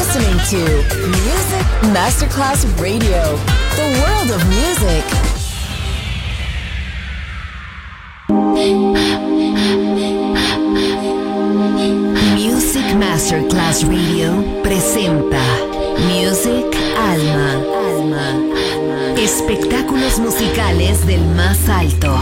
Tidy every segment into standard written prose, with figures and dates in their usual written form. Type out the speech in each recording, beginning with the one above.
listening to Music Masterclass Radio, the world of music. Music Masterclass Radio presenta Music Alma. Espectáculos musicales del más alto.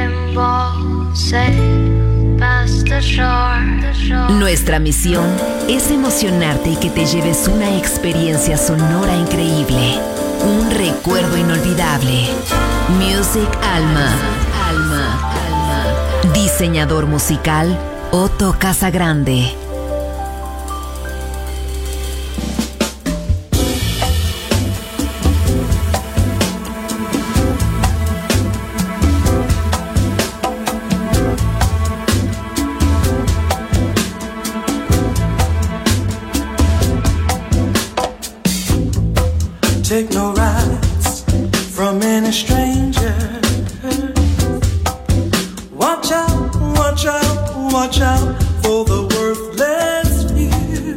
Nuestra misión es emocionarte y que te lleves una experiencia sonora increíble, un recuerdo inolvidable. Music Alma. Diseñador musical Otto Casagrande. Take no rides from any stranger. Watch out, watch out, watch out for the worthless few.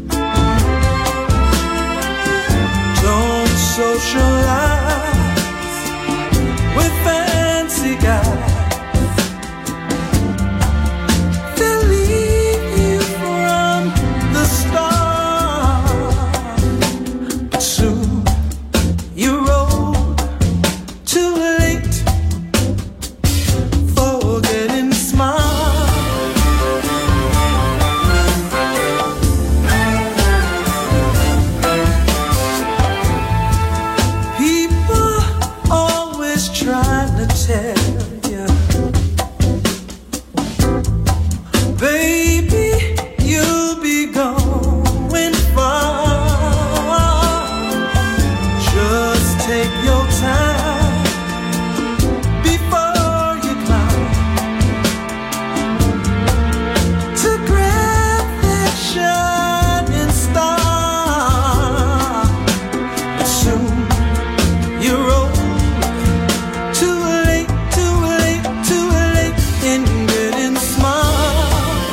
Don't socialize with fancy guys. They'll leave you from the start. But soon you roll too late, forgetting smile. People always trying to tell you, baby, you'll be going far. Just take your time before you climb to grab that shining star. But soon you're old, too late, too late, too late in getting smart.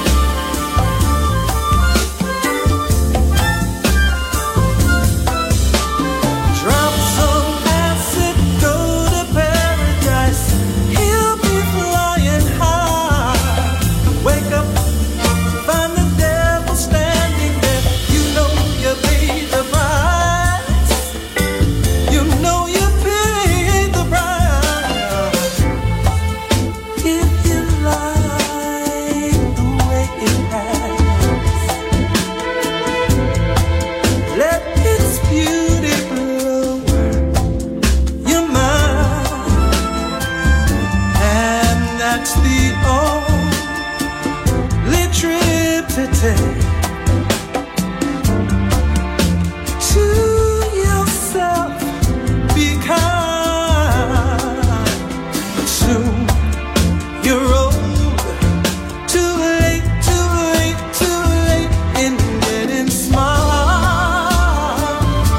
Drop some acid, go to paradise. He'll be flying high. Wake up, find the devil standing there. You know you paid the price. You know you paid the price. If you like the way it happens, let its beauty blow your mind. And that's the only trip to take to yourself. Be kind. But soon you're old, too late, too late, too late in getting smart.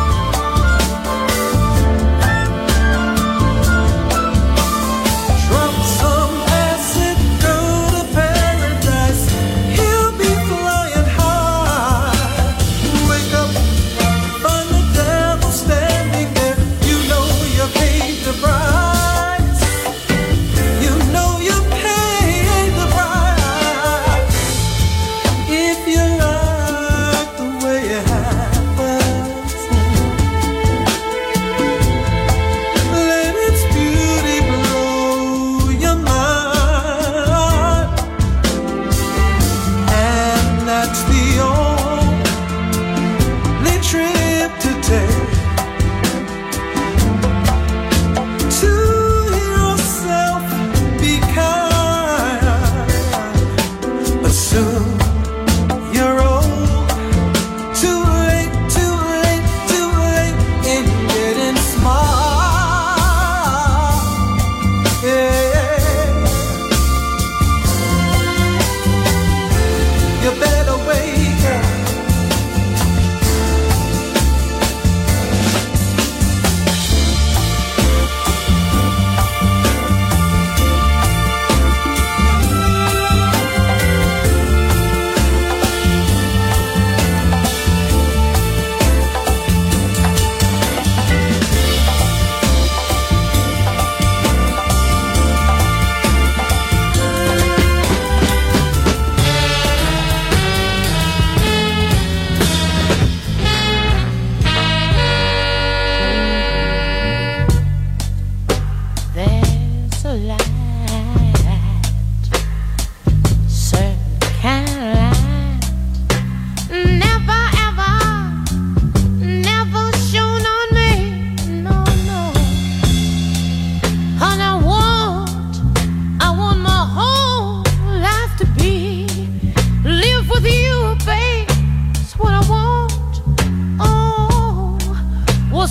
Drop some acid, go to paradise. He'll be flying high. Wake up, find the devil standing there. You know you paid the price. You know you paid the price. If you like the way it happens, let its beauty blow your mind. And that's the only trip to take to yourself. Be kind. But soon you're old, too late, too late, too late in getting smart. Yeah. You better wake up.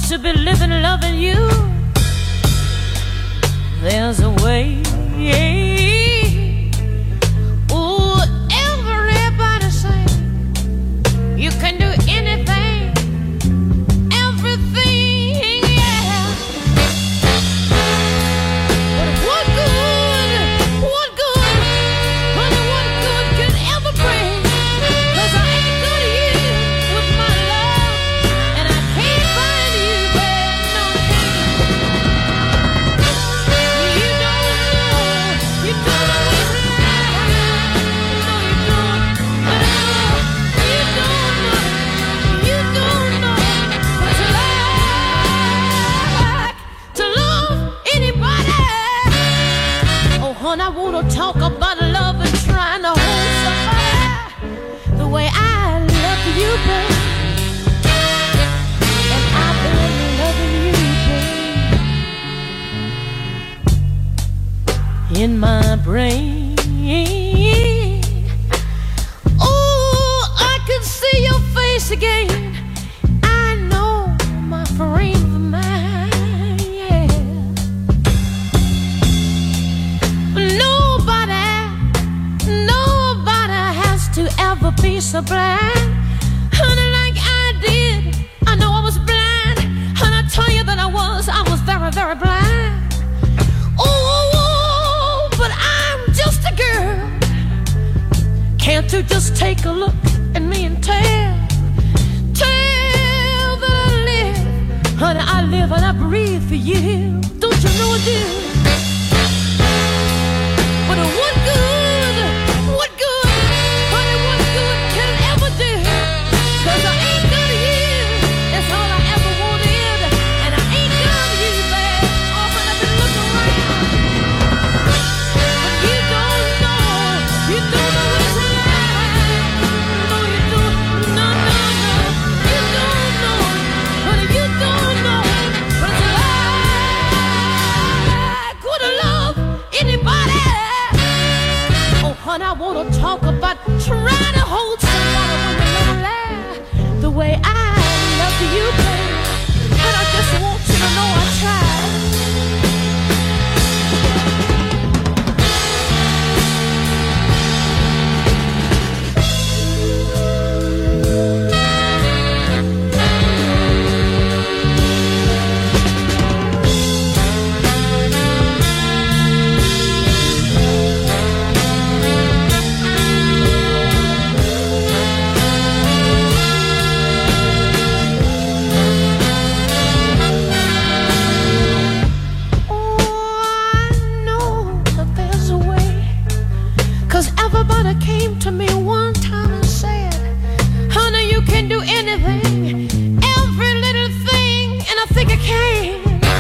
to be living, loving you. There's a way. Ooh, everybody say you can do anything, everything, yeah. But what good, honey, what good can ever bring? 'Cause I ain't good to you with my love, and I can't find you where no king. You don't know what's like to love anybody. Oh, honey, I wanna talk about love and trying to hold somebody the way I love you, babe. And I've been loving you, babe, in my brain. Oh, I can see your face again. I know my frame of mind, yeah. Nobody has to ever be so blind, honey, like I did. I know I was blind, and I tell you that I was very, very blind. Oh, but I'm just a girl. Can't you just take a look at me and tell that I live, honey, I live and I breathe for you. Don't you know I do? But what good, honey, what good can it ever do? 'Cause I ain't good to you, that's all I ever wanted. And I ain't good to you, babe, often I've been looking around. But you don't know what it's like. No, you don't, no, you don't know, honey, you don't know what it's like. Would I love anybody? Oh, honey, I wanna talk about trying to hold somebody when you're lonely the way I love you, babe. And I just want you to know I tried. Everybody came to me one time and said, honey, you can do anything, every little thing, and I think I can.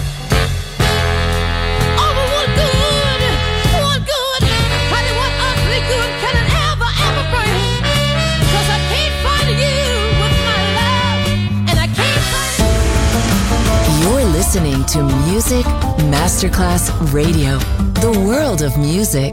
Oh, but what good, honey, what ugly good can it ever bring? 'Cause I can't find you with my love, and I can't find you. You're listening to Music Masterclass Radio, the world of music.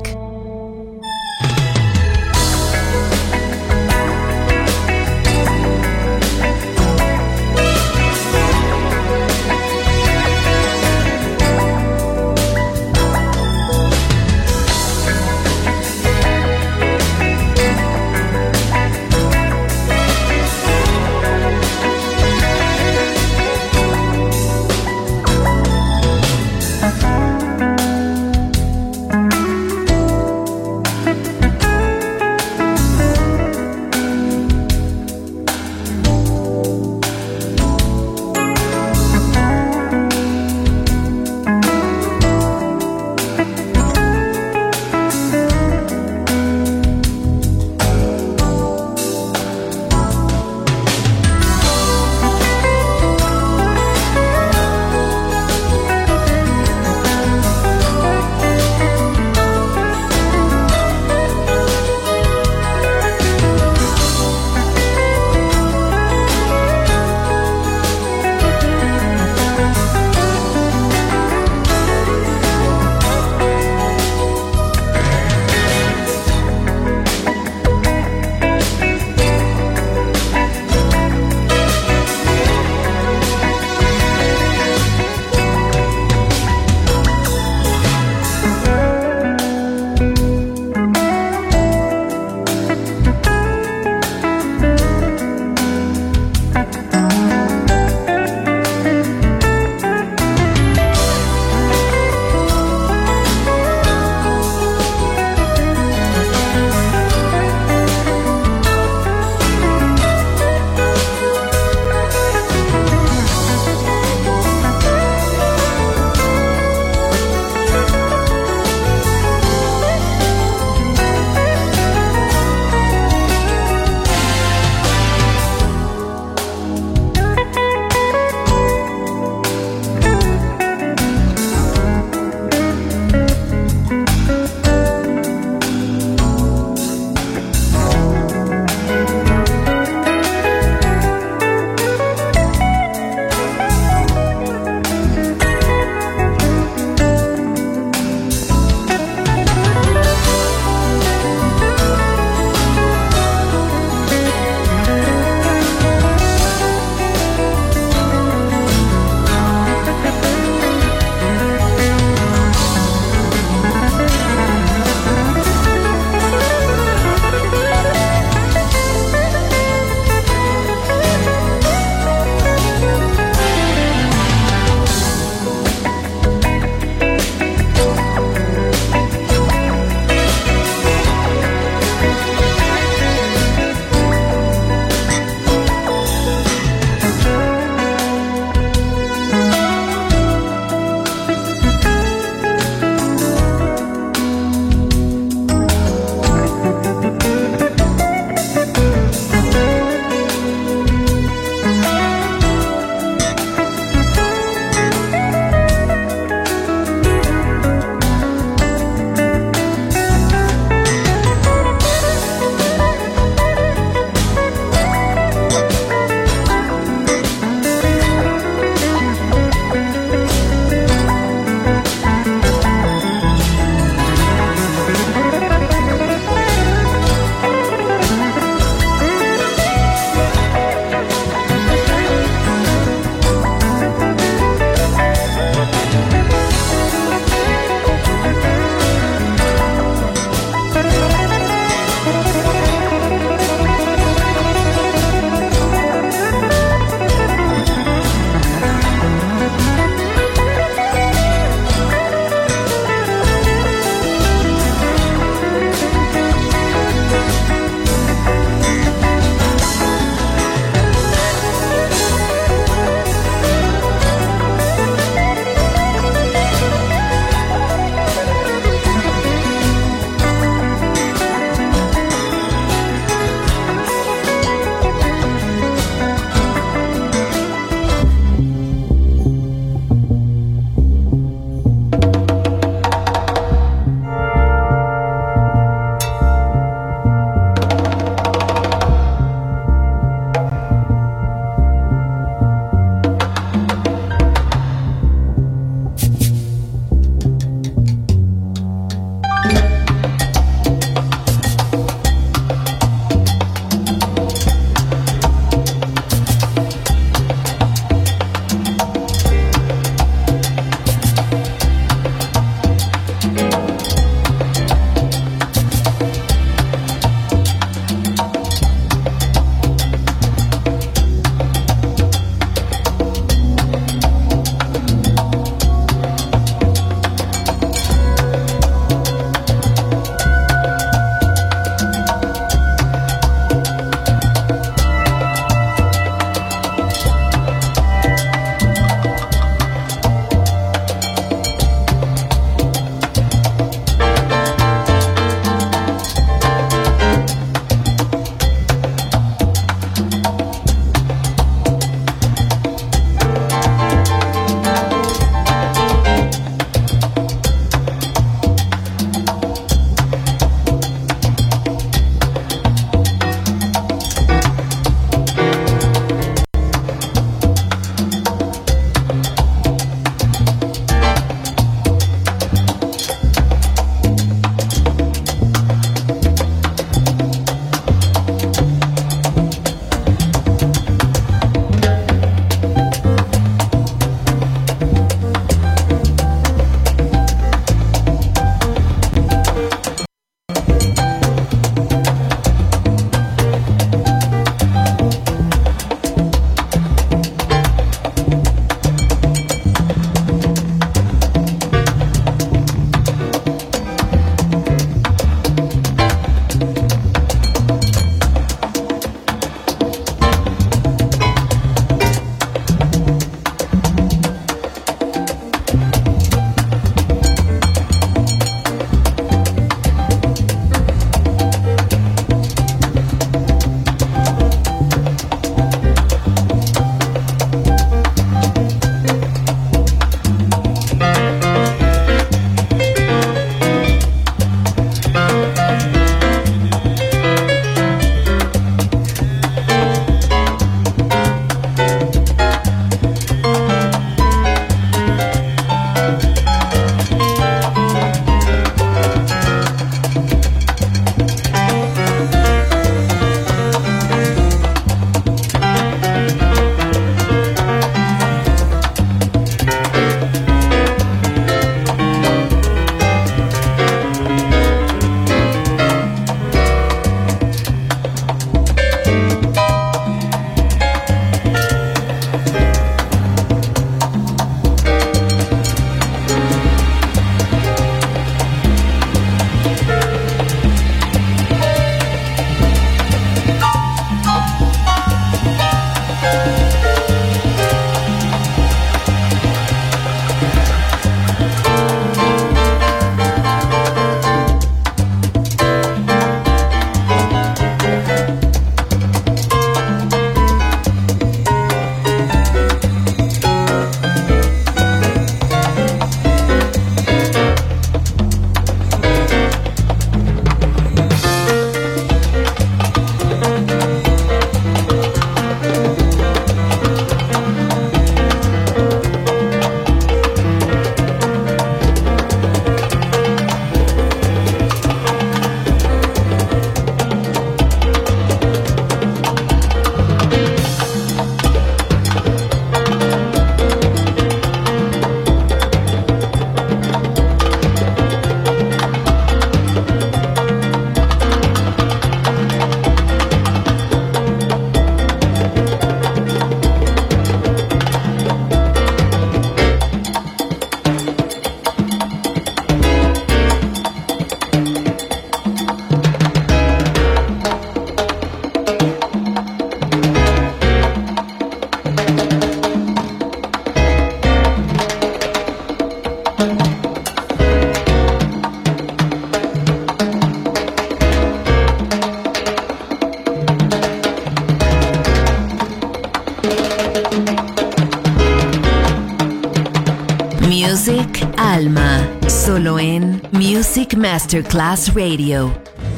Music Alma, solo en Music Masterclass Radio.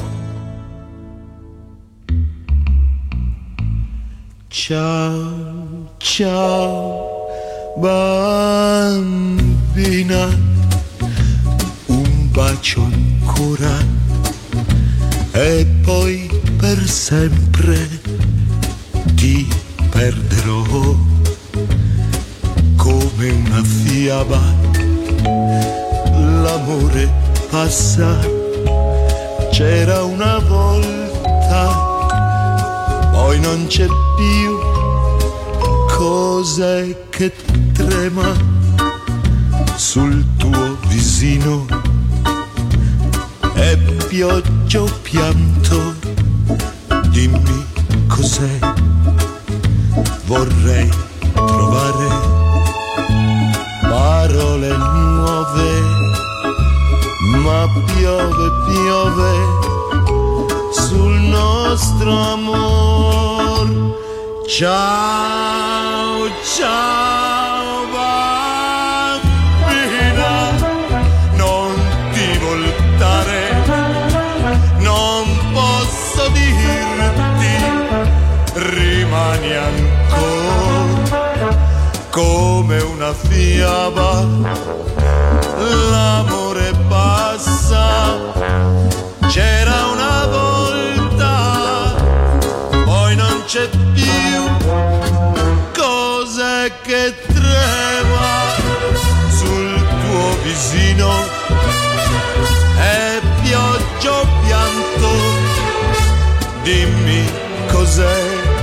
Ciao, ciao, bambina, un bacio ancora e poi per sempre ti perderò come una fiaba. L'amore passa, c'era una volta, poi non c'è più. Cos'è che trema sul tuo visino? È pioggia o pianto? Dimmi cos'è. Vorrei trovare parole nuove, ma piove, piove sul nostro amor. Ciao, ciao bambina, non ti voltare, non posso dirti, rimani ancora come una fiaba. L'amore passa, c'era una volta, poi non c'è più. Cos'è che trema sul tuo visino? È pioggia o pianto? Dimmi cos'è.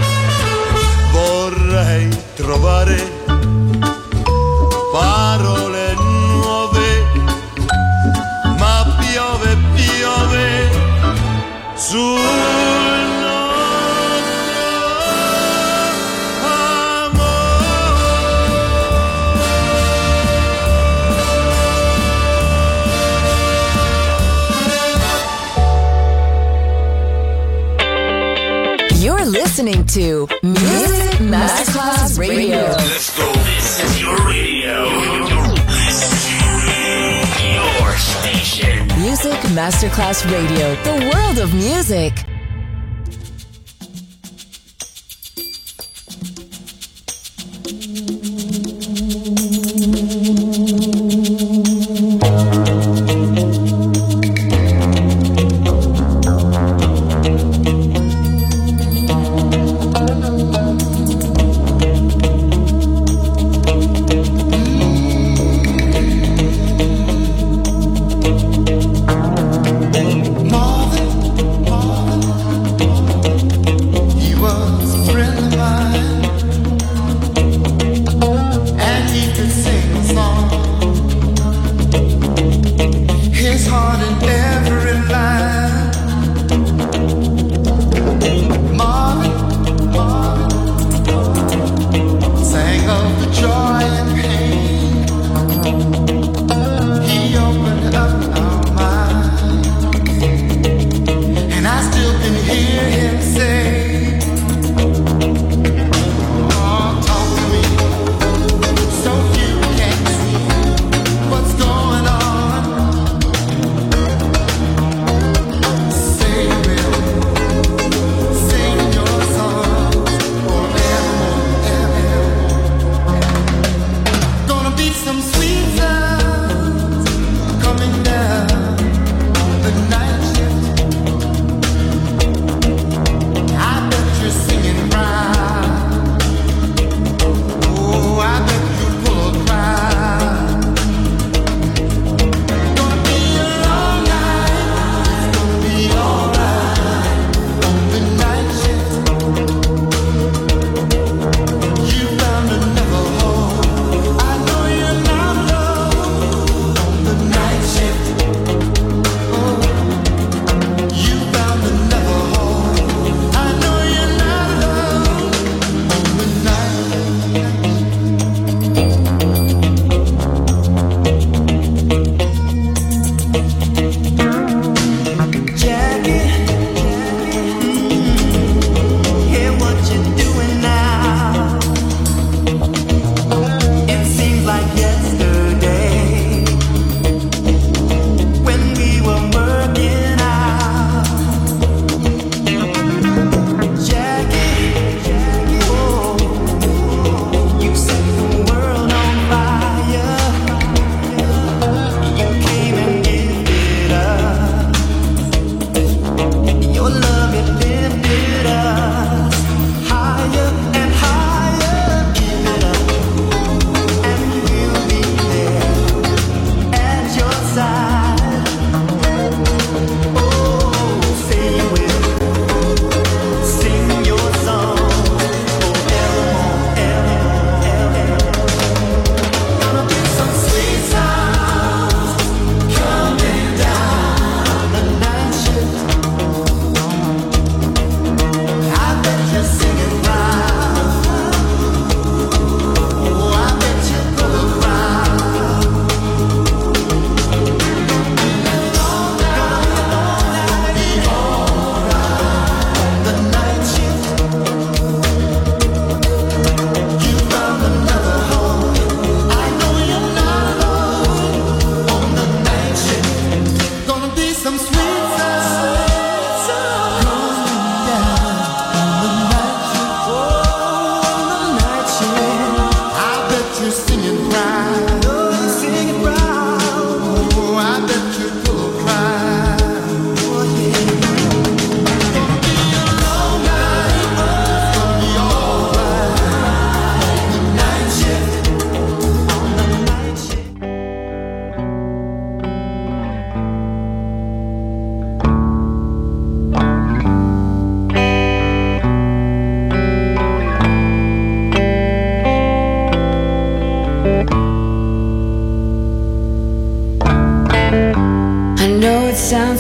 Vorrei trovare parole nuove, ma piove, piove sul listening to Music Masterclass Radio. Let's go. This is your radio. Your station. Music Masterclass Radio. The world of music.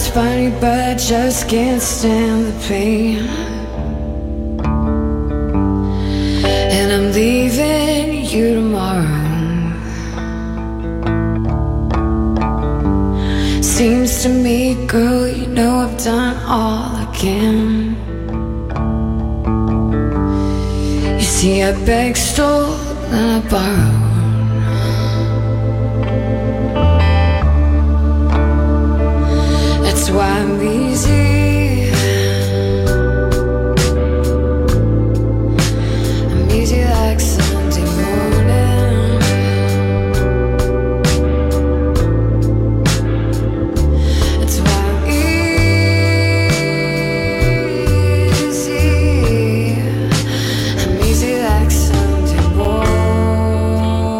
it's funny, but I just can't stand the pain. And I'm leaving you tomorrow. Seems to me, girl, you know I've done all I can. You see, I begged, stole, and I borrowed. That's why I'm easy. I'm easy like Sunday morning. That's why I'm easy. I'm easy like Sunday morning.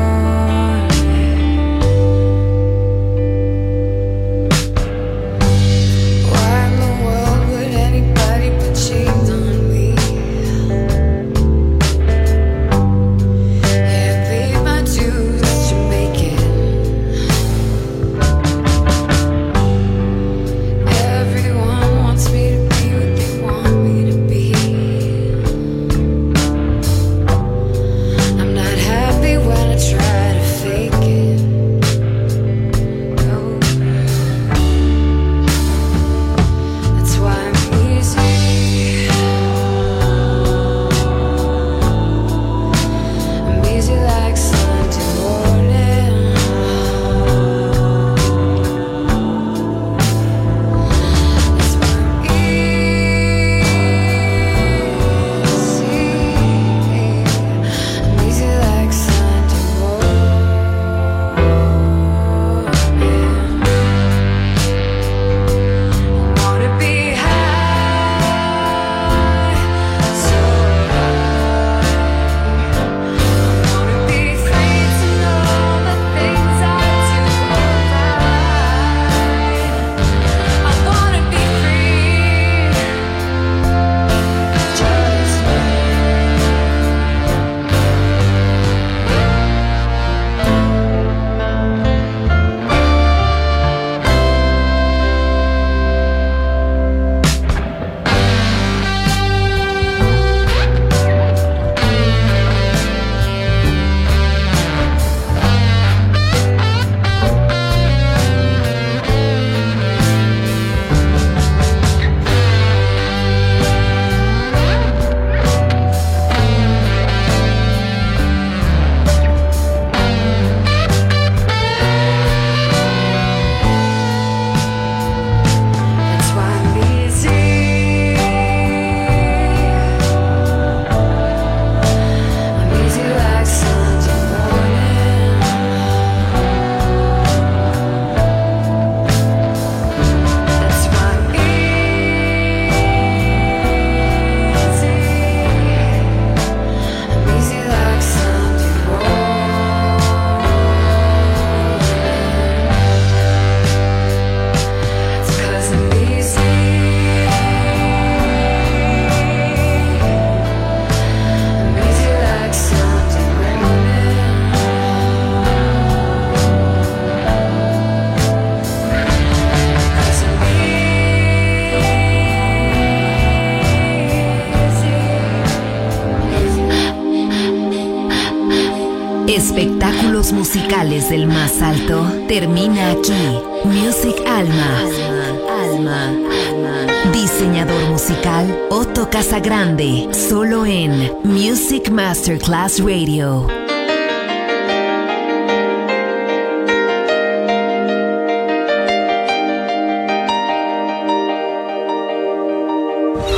Why in the world would anybody put chains on me? Yeah, I paid my dues to make it. Everyone wants me to be what they want me to be. I'm not happy when I try to fake it. No. That's why I'm easy. I'm easy like Sunday morning. That's why I'm easy. I'm easy like Sunday morning. I wanna be high, so high. I wanna be free to know the things I do right. I wanna be free, just me. That's why I'm easy. I'm easy like Sunday morning. That's why I'm easy like Sunday morning. It's 'cause I'm easy. I'm easy like Sunday morning. 'Cause I'm easy. Espectáculos musicales del más alto termina aquí. Music Alma. Diseñador musical Otto Casagrande, solo en Music Masterclass Radio.